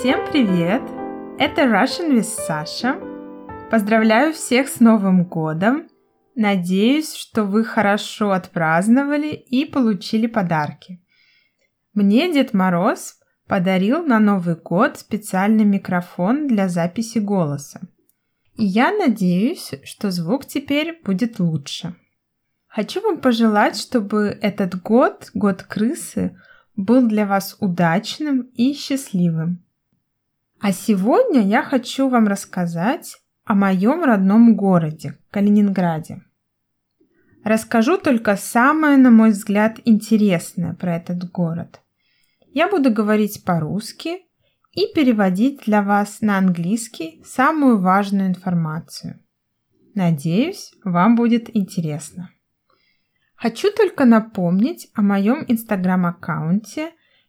Всем привет! Это Russian with Sasha. Поздравляю всех с Новым годом! Надеюсь, что вы хорошо отпраздновали и получили подарки. Мне Дед Мороз подарил на Новый год специальный микрофон для записи голоса. И я надеюсь, что звук теперь будет лучше. Хочу вам пожелать, чтобы этот год, год крысы, был для вас удачным и счастливым. А сегодня я хочу вам рассказать о моем родном городе, Калининграде. Расскажу только самое, на мой взгляд, интересное про этот город. Я буду говорить по-русски и переводить для вас на английский самую важную информацию. Надеюсь, вам будет интересно. Хочу только напомнить о моем инстаграм-аккаунте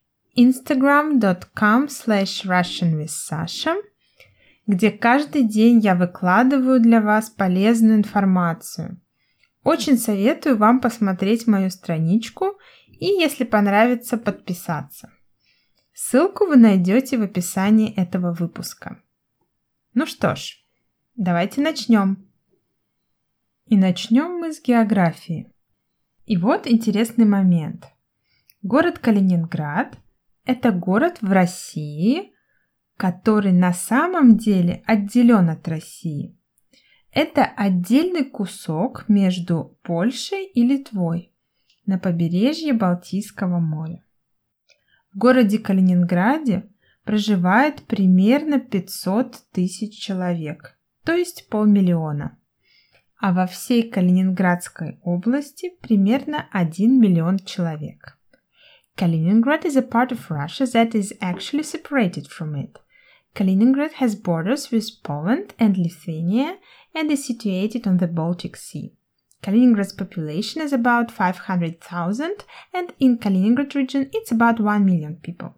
instagram.com/russianwithsasha, где каждый день я выкладываю для вас полезную информацию. Очень советую вам посмотреть мою страничку и, если понравится, подписаться. Ссылку вы найдете в описании этого выпуска. Ну что ж, давайте начнем. И начнем мы с географии. И вот интересный момент. Город Калининград – это город в России, который на самом деле отделен от России. Это отдельный кусок между Польшей и Литвой на побережье Балтийского моря. В городе Калининграде проживает примерно 500 тысяч человек, то есть 500 000. А во всей Калининградской области примерно 1 миллион человек. Kaliningrad is a part of Russia that is actually separated from it. Kaliningrad has borders with Poland and Lithuania and is situated on the Baltic Sea. Kaliningrad's population is about 500,000 and in Kaliningrad region it's about 1 million people.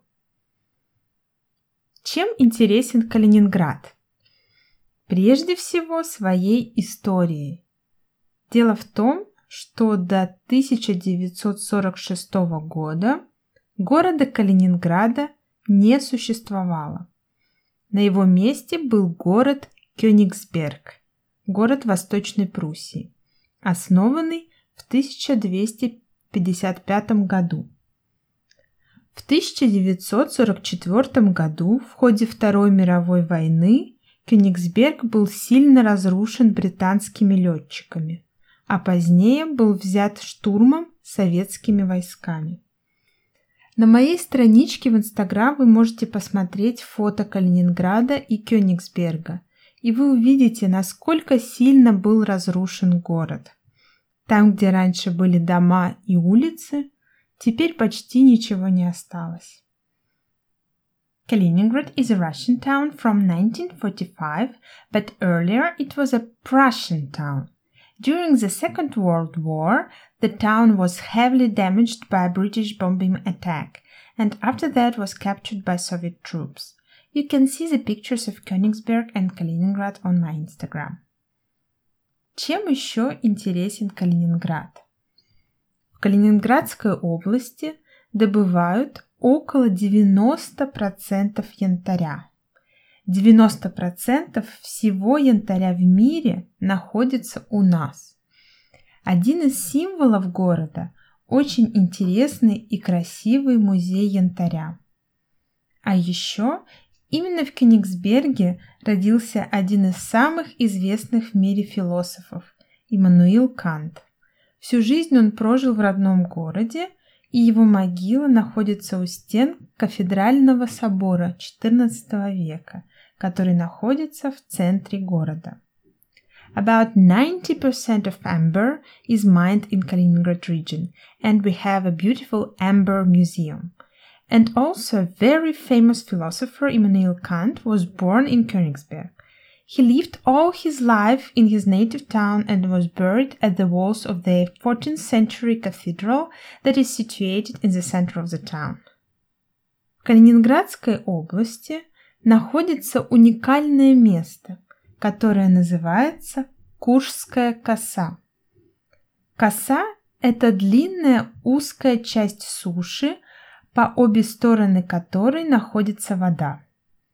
Чем интересен Калининград? Прежде всего своей историей. Дело в том, что до 1946 года города Калининграда не существовало. На его месте был город Кёнигсберг, город Восточной Пруссии, основанный в 1255 году. В 1944 году в ходе Второй мировой войны Кёнигсберг был сильно разрушен британскими летчиками, а позднее был взят штурмом советскими войсками. На моей страничке в Инстаграм вы можете посмотреть фото Калининграда и Кёнигсберга, и вы увидите, насколько сильно был разрушен город. Там, где раньше были дома и улицы, теперь почти ничего не осталось. Kaliningrad is a Russian town from 1945, but earlier it was a Prussian town. During the Second World War, the town was heavily damaged by a British bombing attack, and after that was captured by Soviet troops. You can see the pictures of Königsberg and Kaliningrad on my Instagram. Чем еще интересен Калининград? В Калининградской области добывают около 90% янтаря. 90% всего янтаря в мире находится у нас. Один из символов города – очень интересный и красивый музей янтаря. А еще именно в Кёнигсберге родился один из самых известных в мире философов – Иммануил Кант. Всю жизнь он прожил в родном городе, и его могила находится у стен кафедрального собора XIV века, который находится в центре города. About 90% of amber is mined in Kaliningrad region, and we have a beautiful amber museum. And also a very famous philosopher Immanuel Kant was born in Königsberg. He lived all his life in his native town and was buried at the walls of the 14th century cathedral that is situated in the center of the town. В Калининградской области находится уникальное место, которое называется Куршская коса. Коса – это длинная узкая часть суши, по обе стороны которой находится вода.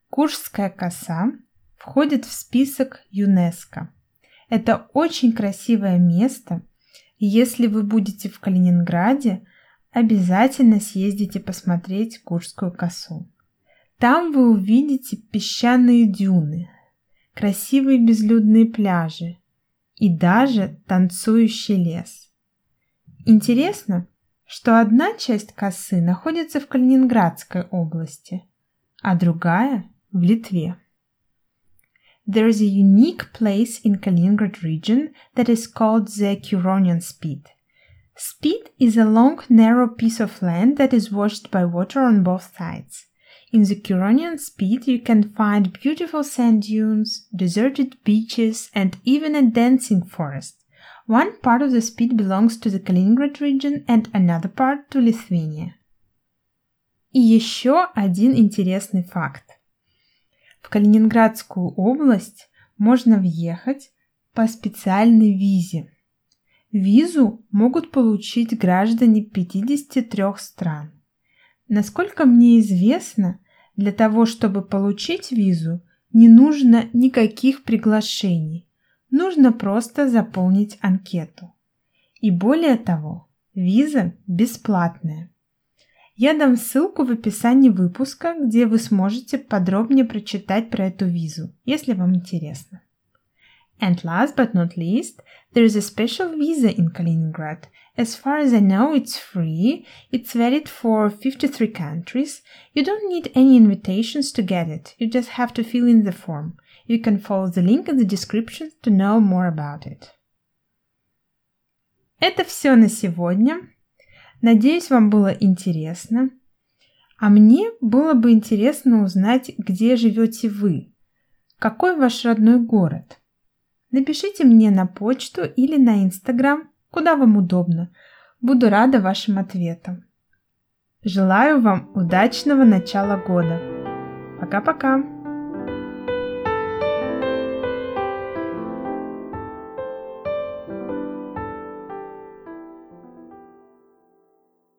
Куршская коса входит в список ЮНЕСКО. Это очень красивое место, и если вы будете в Калининграде, обязательно съездите посмотреть Куршскую косу. Там вы увидите песчаные дюны, красивые безлюдные пляжи и даже танцующий лес. Интересно, что одна часть косы находится в Калининградской области, а другая в Литве. There is a unique place in Kaliningrad region that is called the Curonian Spit. Spit is a long, narrow piece of land that is washed by water on both sides. In the Curonian Spit, you can find beautiful sand dunes, deserted beaches, and even a dancing forest. One part of the Spit belongs to the Kaliningrad region and another part to Lithuania. И еще один интересный факт. В Калининградскую область можно въехать по специальной визе. Визу могут получить граждане 53 стран. Насколько мне известно, для того, чтобы получить визу, не нужно никаких приглашений. Нужно просто заполнить анкету. И более того, виза бесплатная. Я дам ссылку в описании выпуска, где вы сможете подробнее прочитать про эту визу, если вам интересно. And last but not least, there is a special visa in Kaliningrad. As far as I know, it's free. It's valid for 53 countries. You don't need any invitations to get it. You just have to fill in the form. You can follow the link in the description to know more about it. Это все на сегодня. Надеюсь, вам было интересно. А мне было бы интересно узнать, где живете вы. Какой ваш родной город? Напишите мне на почту или на Instagram, куда вам удобно. Буду рада вашим ответам. Желаю вам удачного начала года. Пока-пока!